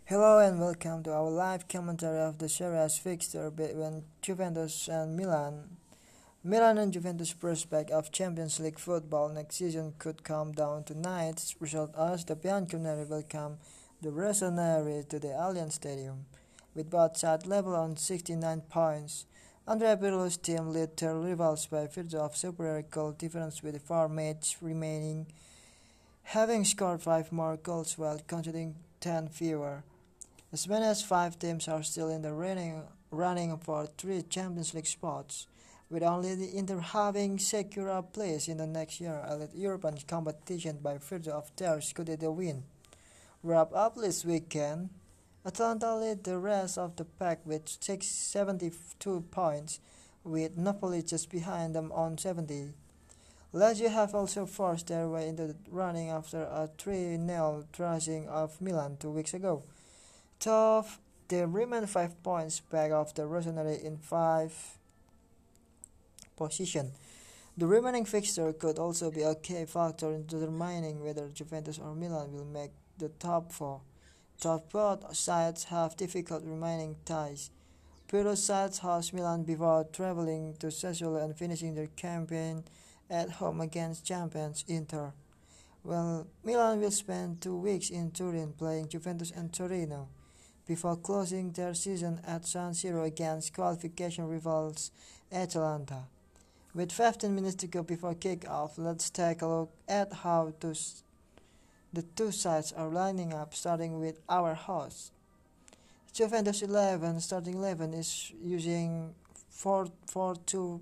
Hello and welcome to our live commentary of the Series fixture between Juventus and Milan. Milan and Juventus' prospect of Champions League football next season could come down to tonight's result as the Bianconeri welcome the Rossoneri to the Allianz Stadium. With both sides level on 69 points, Andrea Pirlo's team lead their rivals by virtue of superior goal difference with 4 matches remaining, having scored 5 more goals while conceding 10 fewer. As many as 5 teams are still in the running for 3 Champions League spots, with only the Inter having secured a place in the next year elite European competition by virtue of their Scudetto win. Wrap up this weekend, Atalanta lead the rest of the pack with 672 points, with Napoli just behind them on 70. Lazio have also forced their way into the running after a 3-0 thrashing of Milan 2 weeks ago. Tough, they remain 5 points back of the Rossoneri in 5th position. The remaining fixture could also be a key factor in determining whether Juventus or Milan will make the top 4. Both sides have difficult remaining ties. Pirlo's sides host Milan before traveling to Sassuolo and finishing their campaign at home against champions Inter. Well, Milan will spend 2 weeks in Turin playing Juventus and Torino before closing their season at San Siro against qualification rivals Atalanta. With 15 minutes to go before kick-off, let's take a look at how the two sides are lining up, starting with our hosts. Juventus starting 11 is using 4-4-2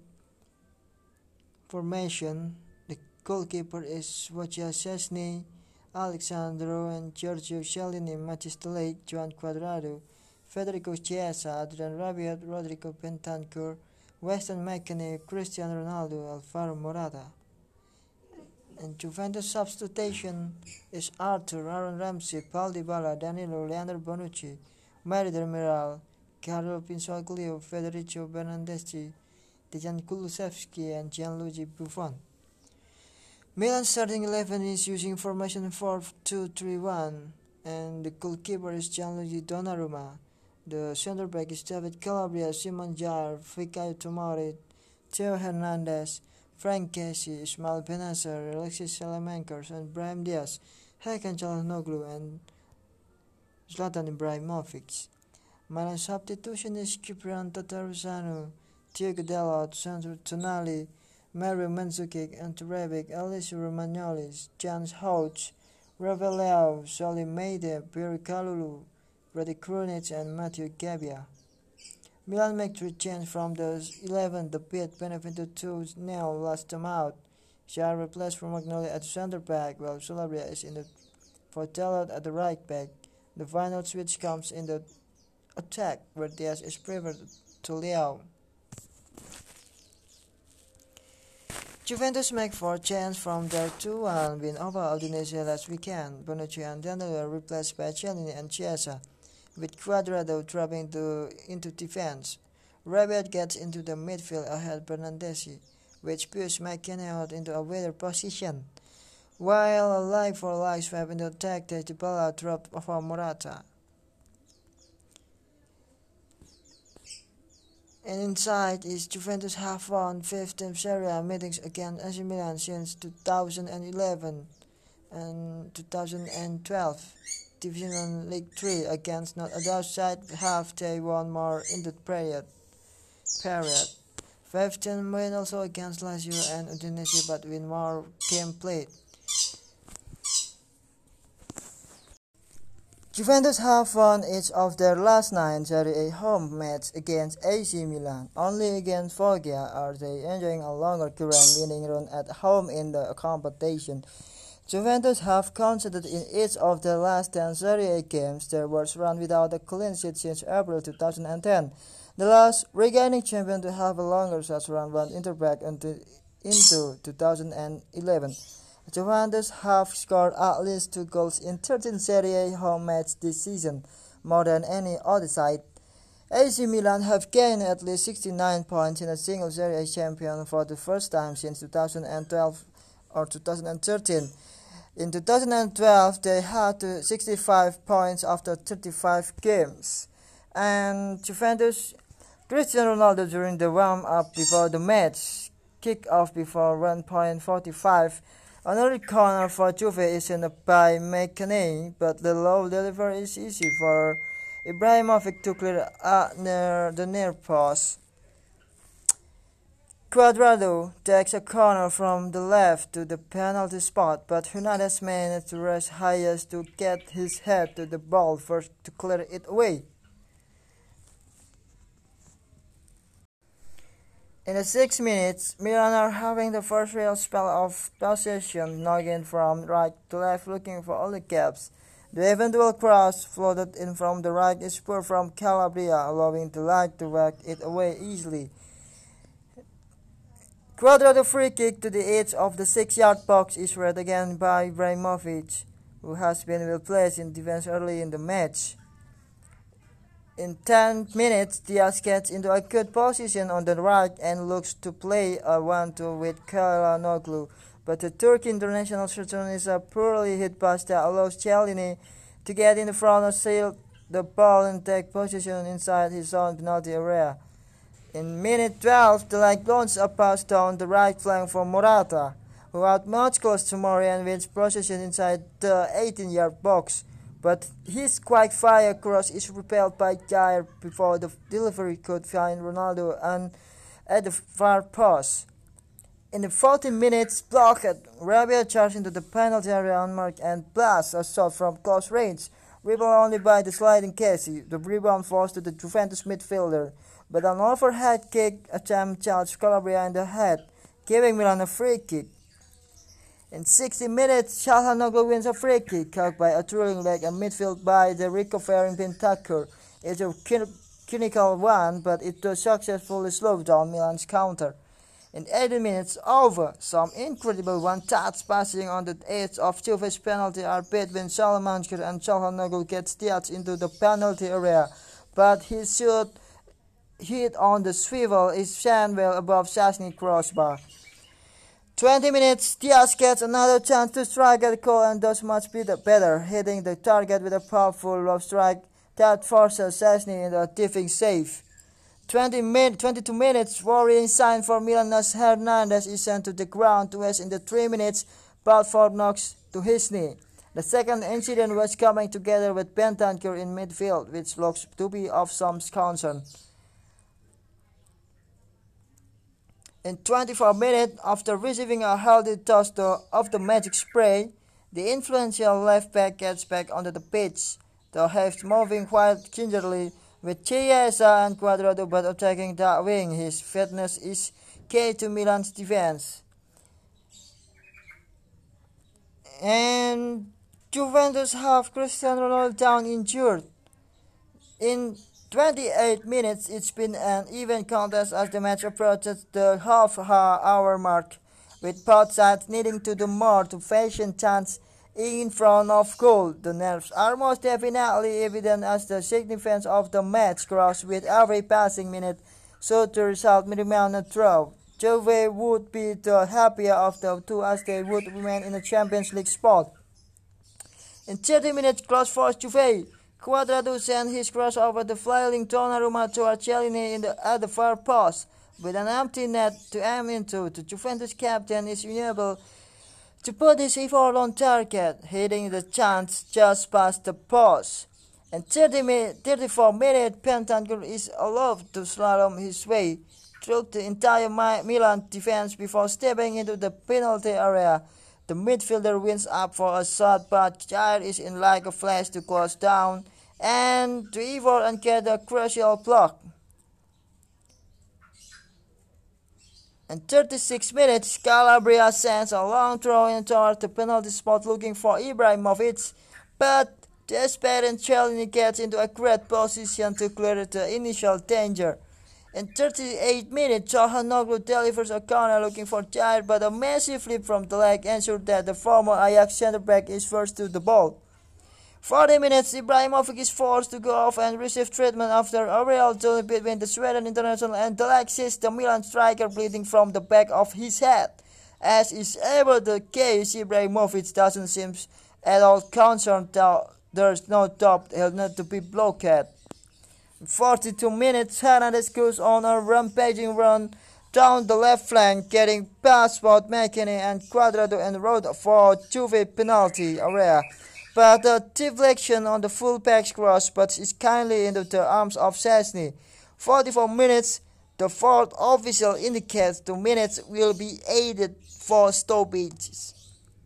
formation. The goalkeeper is Wojciech Szczesny, Alexandro and Giorgio Chiellini, Matthijs de Ligt, Juan Cuadrado, Federico Chiesa, Adrian Rabiot, Rodrigo Bentancur, Weston McKennie, Cristiano Ronaldo, Alvaro Morata. And Juventus substitution is Arthur, Aaron Ramsey, Paul Dybala, Danilo, Leandro Bonucci, Mari Demiral, Carlo Pinsoglio, Federico Bernardeschi, Dejan Kulusevski, and Gianluigi Buffon. Milan starting 11 is using formation 4-2-3-1, and the goalkeeper is Gianluigi Donnarumma. The center back is David Calabria, Simon Jair, Fikayo Tomori, Theo Hernandez, Frank Kessie, Ismail Bennacer, Alexis Salamankers, and Brahim Diaz, Hakan Çalhanoğlu, and Zlatan Ibrahimovic. Milan substitution is Kyprian Tatarusanu, Diego Dalot, Sandro Tonali, Mario Mandzukic, Ante Rebic, Alessio Romagnoli, Jan Hout, Rafael Leao, Salim Meide, Pierre Kalulu, Radi Krunic, and Matthew Gabbia. Milan make 3 changes from the 11 that beat Benevento 2-0 last time out. Jair replaced Romagnoli at center back, while Calabria is in the for Dalot at the right back. The final switch comes in the attack, where Diaz is preferred to Leao. Juventus make 4 changes from their 2-1 win over Udinese last weekend. Bonucci and Danilo are replaced by Chiellini and Chiesa, with Cuadrado dropping into defense. Rabiot gets into the midfield ahead Bernardeschi, which pushes McKennie out into a wider position, while a like-for-like swap in the attack takes Dybala dropped for Morata. And inside is Juventus have won 15 Serie A meetings against AC Milan since 2011 and 2012. Division League 3 against not a side have they won more in the period. 15 win also against Lazio and Udinese, but win more game played. Juventus have won each of their last 9 Serie A home matches against AC Milan. Only against Foggia are they enjoying a longer current winning run at home in the competition. Juventus have conceded in each of their last 10 Serie A games their worst run without a clean sheet since April 2010. The last regaining champion to have a longer such run went Inter back into 2011. Juventus have scored at least 2 goals in 13 Serie A home matches this season, more than any other side. AC Milan have gained at least 69 points in a single Serie A champion for the first time since 2012 or 2013. In 2012, they had 65 points after 35 games. And Juventus, Cristiano Ronaldo during the warm-up before the match, kick-off before 1.45. Another corner for Juve is in by McKennie, but the low delivery is easy for Ibrahimovic to clear near the near post. Cuadrado takes a corner from the left to the penalty spot, but Hernandez managed to rush highest to get his head to the ball first to clear it away. In the 6 minutes, Milan are having the first real spell of possession, knocking from right to left looking for all the gaps. The eventual cross floated in from the right is poor from Calabria, allowing the light to whack it away easily. Cuadrado free kick to the edge of the 6-yard box is read again by Ibrahimovic, who has been well placed in defense early in the match. In 10 minutes, Diaz gets into a good position on the right and looks to play a 1-2 with Çalhanoğlu, but the Turkey international returns a poorly hit pass that allows Chiellini to get in the front and seal the ball and take position inside his own penalty area. In minute 12, the leg launches a pass down the right flank for Morata, who outmuscles Tomori and wins possession inside the 18-yard box. But his quick-fire cross is repelled by Jair before the delivery could find Ronaldo and at the far post. In the 14 minutes, blocked, Rabiot charged into the penalty area unmarked and blasts a shot from close range, rebound only by the sliding Casey. The rebound falls to the Juventus midfielder, but an overhead kick attempt charged Calabria in the head, giving Milan a free kick. In 60 minutes, Çalhanoğlu wins a free kick caught by a twirling leg and midfield by the recovering Bentancur. It's a clinical one, but it does successfully slow down Milan's counter. In 80 minutes over, some incredible one-touch passing on the edge of Juve's penalty are between Salamanca and Çalhanoğlu gets Diaz into the penalty area, but his shot hit on the swivel is sent well above Szczęsny's crossbar. 20 minutes, Diaz gets another chance to strike at the goal and does much better, hitting the target with a powerful lob strike that forces Szczęsny into a diving save. 22 minutes, worrying sign for Milan as Hernandez is sent to the ground to rest in the 3 minutes, Balfour knocks to his knee. The second incident was coming together with Bentancur in midfield, which looks to be of some concern. In 24 minutes, after receiving a healthy toss of the magic spray, the influential left back gets back onto the pitch. The half moving quite gingerly with Chiesa and Cuadrado, but attacking that wing. His fitness is key to Milan's defense. And Juventus have Cristiano Ronaldo down injured. In 28 minutes, it's been an even contest as the match approaches the half-hour mark, with both sides needing to do more to fashion chance in front of goal. The nerves are most definitely evident as the significance of the match grows with every passing minute, so the result may remain a draw. Juve would be the happier of the two as they would remain in the Champions League spot. In 30 minutes, close for Juve. Cuadrado sent his cross over the flailing Donnarumma to Chiellini at the far post. With an empty net to aim into, the Juventus captain is unable to put his effort on target, hitting the chance just past the post. In 34 minutes, Bentancur is allowed to slalom his way through the entire Milan defense before stepping into the penalty area. The midfielder wins up for a shot, but Jair is in like a flash to close down and to evade and get a crucial block. In 36 minutes, Calabria sends a long throw in toward the penalty spot looking for Ibrahimovic, but desperate Chiellini gets into a great position to clear the initial danger. In 38 minutes, Çalhanoğlu delivers a corner looking for Jair, but a massive flip from the leg ensured that the former Ajax centre-back is first to the ball. 40 minutes, Ibrahimovic is forced to go off and receive treatment after a real duel between the Sweden international and Alexis, the Milan striker, bleeding from the back of his head. as is ever the case, Ibrahimovic doesn't seem at all concerned that there's no top not to be blocked. 42 minutes, Hernandez goes on a rampaging run down the left flank, getting past both McKennie and Cuadrado en route for Juve penalty area. But a deflection on the fullback's cross puts it kindly into the arms of Szczesny. 44 minutes, the fourth official indicates 2 minutes will be added for stoppages.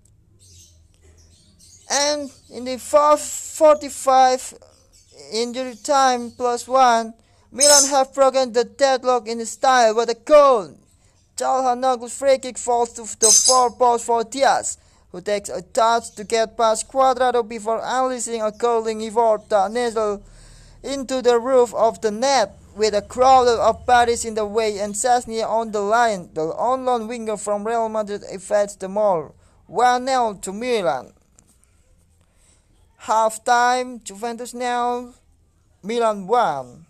And in the 45 injury time +1, Milan have broken the deadlock in style with a goal. Çalhanoğlu's free kick falls to the far post for Diaz, who takes a touch to get past Cuadrado before unleashing a curling effort that needle into the roof of the net, with a crowd of bodies in the way and Szczesny on the line. The on-loan winger from Real Madrid evades the maul. 1-0 to Milan. Half-time, Juventus 0, Milan 1.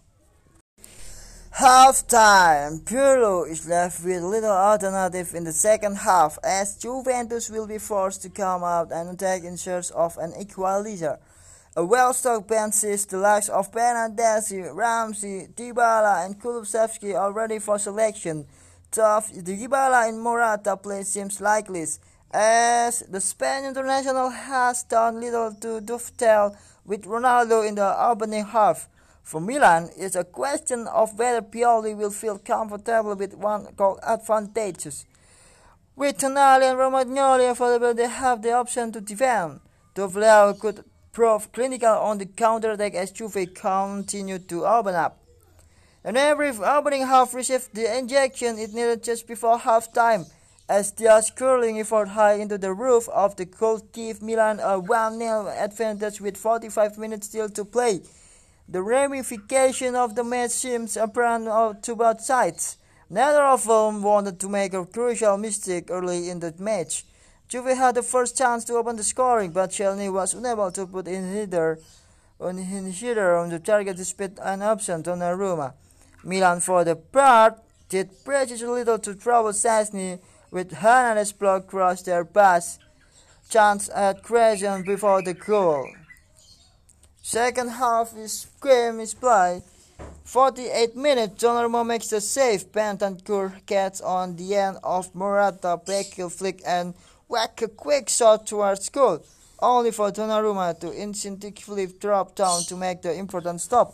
Half-time, Pirlo is left with little alternative in the second half, as Juventus will be forced to come out and attack in search of an equalizer. A well-stocked bench sees the likes of Bernardeschi, Ramsey, Dybala and Kulusevski are ready for selection. Tough, Dybala and Morata play seems likely, as the Spanish international has done little to dovetail with Ronaldo in the opening half. For Milan, it's a question of whether Pioli will feel comfortable with one goal advantages. With Tonali and Romagnoli available, they have the option to defend. Dovleo could prove clinical on the counter-attack as Juve continued to open up. And every opening half received the injection it needed just before half-time, as Diaz curling effort high into the roof of the goal gave Milan a 1-0 advantage with 45 minutes still to play. The ramification of the match seems apparent to both sides. Neither of them wanted to make a crucial mistake early in the match. Juve had the first chance to open the scoring, but Szczesny was unable to put in either on the target despite an absent Donnarumma. Milan, for the part, did precious little to trouble Szczesny, with Hernandez block cross their pass chance at creation before the goal. Second half game is play. 48 minutes, Donnarumma makes the save. Bentancur gets on the end of Morata, backheel flick and whack a quick shot towards goal, only for Donnarumma to instinctively drop down to make the important stop.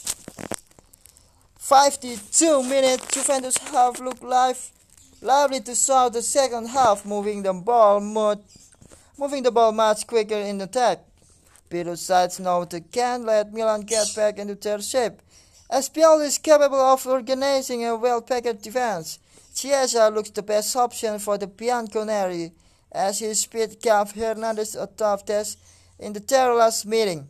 52 minutes, Juventus have looked lively to start the second half, moving the ball much quicker in attack. Pirlo's sides know they can't let Milan get back into their shape, as Pioli is capable of organizing a well-packed defense. Chiesa looks the best option for the Bianconeri, as his speed gave Hernandez a tough test in the last meeting.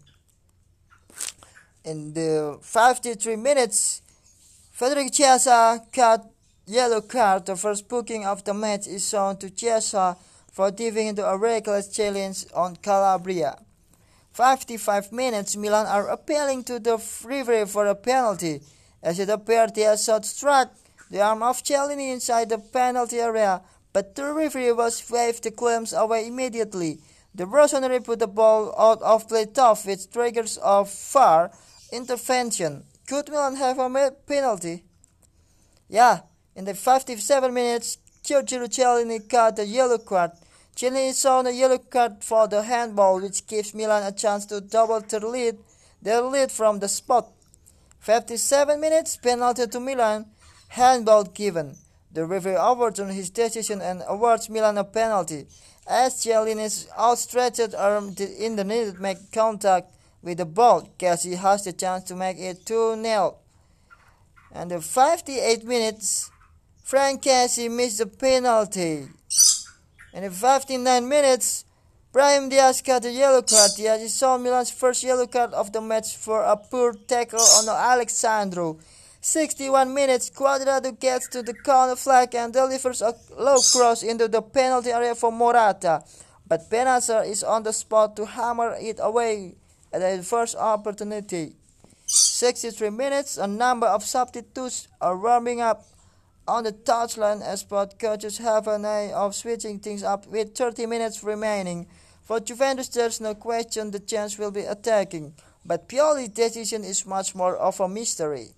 In the 53 minutes, Federico Chiesa got yellow card. The first booking of the match is shown to Chiesa for diving into a reckless challenge on Calabria. 55 minutes, Milan are appealing to the referee for a penalty, as it appeared Diaz shot struck the arm of Chiellini inside the penalty area, but the referee was waved the claims away immediately. The Rossoneri put the ball out of play tough, which triggers a VAR intervention. Could Milan have a penalty? Yeah, in the 57 minutes, Giorgio Chiellini got a yellow card. Chiellini saw a yellow card for the handball, which gives Milan a chance to double their lead from the spot. 57 minutes, penalty to Milan, handball given. The referee overturned his decision and awards Milan a penalty, as Chiellini's outstretched arm in the needed make contact with the ball. Kessie has the chance to make it 2-0. And the 58 minutes, Frank Kessie missed the penalty. In the 59 minutes, Brahim Diaz got a yellow card. Diaz saw Milan's first yellow card of the match for a poor tackle on Alexandro. 61 minutes, Cuadrado gets to the corner flag and delivers a low cross into the penalty area for Morata. But Benacer is on the spot to hammer it away at the first opportunity. 63 minutes, a number of substitutes are warming up on the touchline as both coaches have an eye of switching things up with 30 minutes remaining. For Juventus, there's no question the chance will be attacking, but Pioli's decision is much more of a mystery.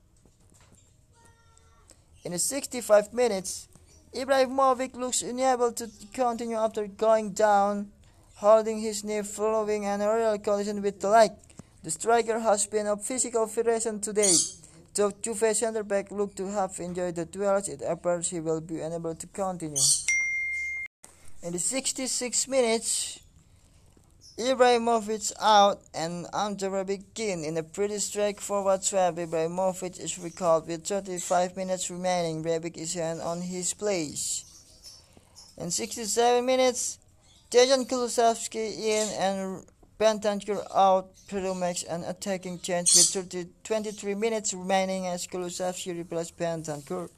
In the 65 minutes, Ibrahimovic looks unable to continue after going down, holding his knee following an aerial collision with the leg. The striker has been of physical federation today. Though Juve centre-back looked to have enjoyed the duels, it appears he will be unable to continue. In the 66 minutes, Ibrahimovic out and Ante Rebic in. In a pretty straightforward swap, Ibrahimovic is recalled with 35 minutes remaining. Rebic is on his place. In 67 minutes, Dejan Kulusevski in and Bentancur out. Peru makes an attacking change with 23 minutes remaining as Kulusevski replaced Bentancur.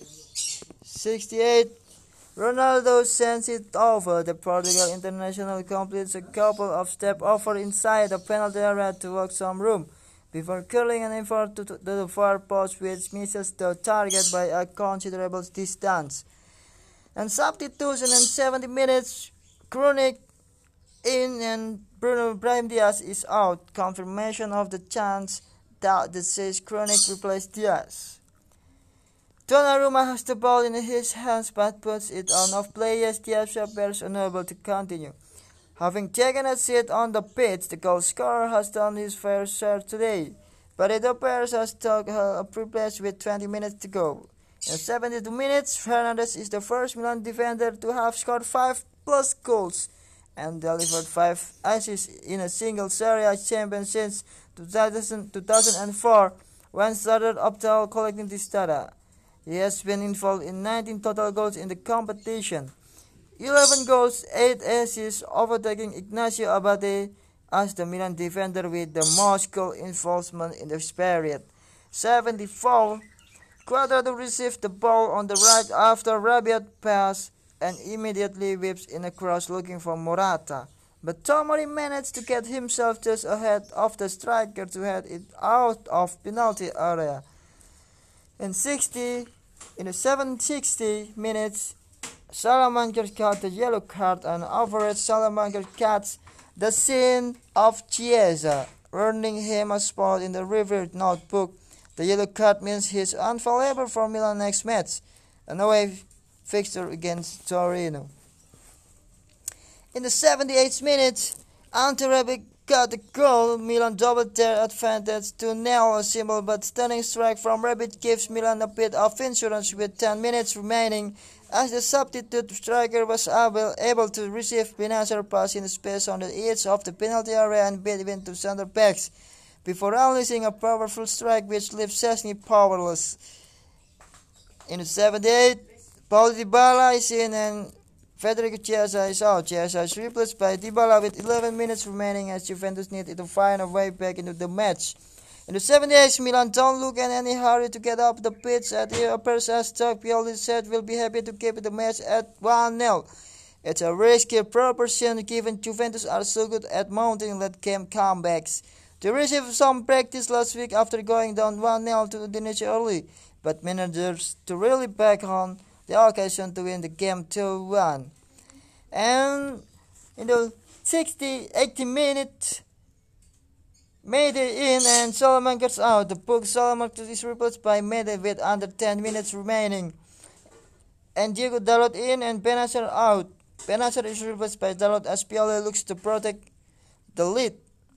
68. Ronaldo sends it over. The Portugal international completes a couple of step over inside the penalty area to work some room before curling an effort to the far post, which misses the target by a considerable distance. And substitution in 70 minutes, Krunic in and Brahim Diaz is out. Confirmation of the chance that says Krunic replaced Diaz. Donnarumma has the ball in his hands but puts it on off play as Diaz appears unable to continue. Having taken a seat on the pitch, the goal scorer has done his fair share today, but it appears as took a pre-place with 20 minutes to go. In 72 minutes, Fernandes is the first Milan defender to have scored 5+ goals and delivered 5 assists in a single Serie A champion since 2004, when started Optal collecting this data. He has been involved in 19 total goals in the competition. 11 goals, 8 assists, overtaking Ignacio Abate as the Milan defender with the most goal involvement in this period. 74. Cuadrado received the ball on the right after Rabiot pass and immediately whips in a cross looking for Morata. But Tomori managed to get himself just ahead of the striker to head it out of penalty area. In the 760 minutes, Salamanca got the yellow card, and afterwards Salamanca cuts the scene of Chiesa, earning him a spot in the reviewed notebook. The yellow card means he's unavailable for Milan next match, an away fixture against Torino. In the 78th minute, Ante Rebic got the goal. Milan doubled their advantage to nail a simple but stunning strike from Rebic gives Milan a bit of insurance with 10 minutes remaining, as the substitute striker was able to receive Benacer pass in space on the edge of the penalty area and between two center backs, before unleashing a powerful strike which leaves Szczesny powerless. In the 78th, Paulo Dybala is in and Federico Chiesa is out. Chiesa is replaced by Dybala with 11 minutes remaining as Juventus needed to find a way back into the match. In the 78th, Milan don't look in any hurry to get up the pitch, and it appears as Doug Pioli said will be happy to keep the match at 1-0. It's a risky proposition given Juventus are so good at mounting late game comebacks. They received some practice last week after going down 1-0 to Udinese early, but managers to really back on the occasion to win the game 2-1. And in the 80 minutes, Mede in and Salamanca's out. The book Salamanca is replaced by Mede with under 10 minutes remaining. And Diego Dalot in and Benacer out. Benacer is replaced by Dalot as Pioli looks to protect the lead.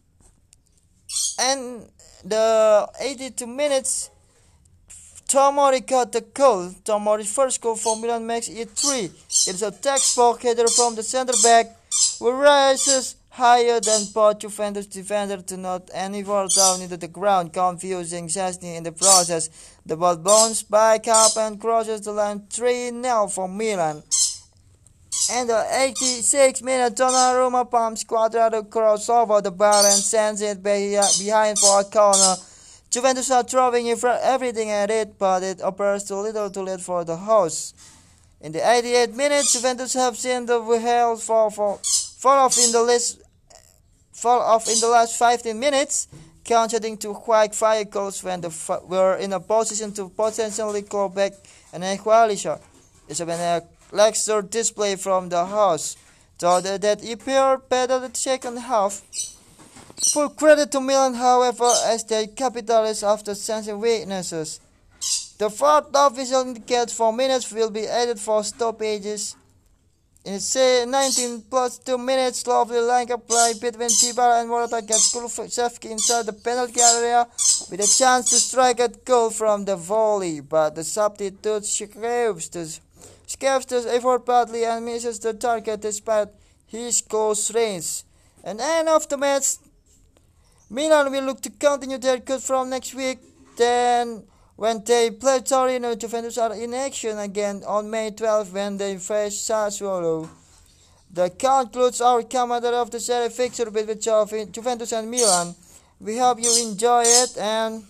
And the 82 minutes, Tomori got the goal. Tomori's first goal for Milan makes it 3. It's a textbook header from the center back, who rises higher than both Juventus defender to not anywhere down into the ground, confusing Szczesny in the process. The ball bounced back up and crosses the line 3-0 for Milan. And the 86th minute, Donnarumma pumps Cuadrado cross over the bar and sends it behind for a corner. Juventus are throwing everything at it, but it appears too little too late for the hosts. In the 88th minute, Juventus have seen the whale fall off in the last 15 minutes. conceding two quick fire goals when they were in a position to potentially claw back an equalizer. It's been a lackluster display from the host, though that appeared better in the second half. Full credit to Milan, however, as they capitalized after sensing weaknesses. The fourth official indicates 4 minutes will be added for stoppages. In 19 plus 2 minutes, lovely line-up play between Dybala and Morata gets Kulusevski inside the penalty area with a chance to strike a goal from the volley, but the substitute escapes the effort badly and misses the target despite his close range. At the end of the match, Milan will look to continue their good form next week. Then, when they play Torino, Juventus are in action again on May 12 when they face Sassuolo. That concludes our commentary of the series fixture between Juventus and Milan. We hope you enjoy it, and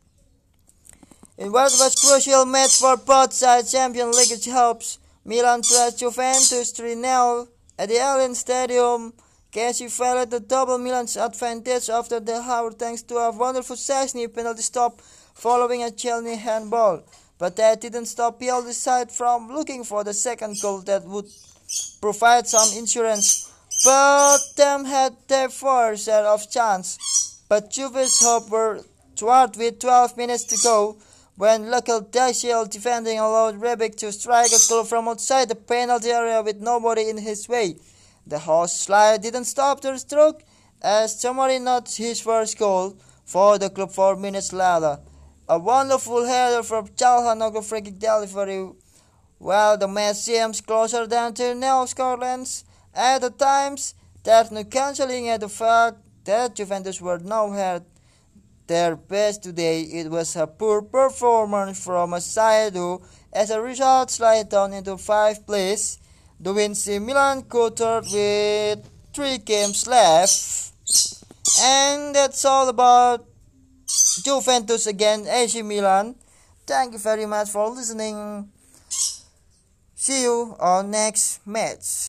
in what was crucial match for both sides, Champions League hopes, Milan plus Juventus 3-0 at the Allianz Stadium. Casey fell the double Milan's advantage after the hour thanks to a wonderful Szczęsny penalty stop following a Chelsea handball. But that didn't stop Pioli's side from looking for the second goal that would provide some insurance. Both them had their fair share of chance, but Juve's hope were thwarted with 12 minutes to go when local Daciel defending allowed Rebic to strike a goal from outside the penalty area with nobody in his way. The host slide didn't stop their stroke as Tomori notched his first goal for the club 4 minutes later. A wonderful header from Calhanoglu free kick delivery, while the match seems closer than to nil scorelines. At the times, there's no cancelling at the fact that Juventus were nowhere their best today. It was a poor performance from a side who, as a result, slid down into 5th place. The AC Milan quartered with 3 games left. And that's all about Juventus against AC Milan. Thank you very much for listening. See you on next match.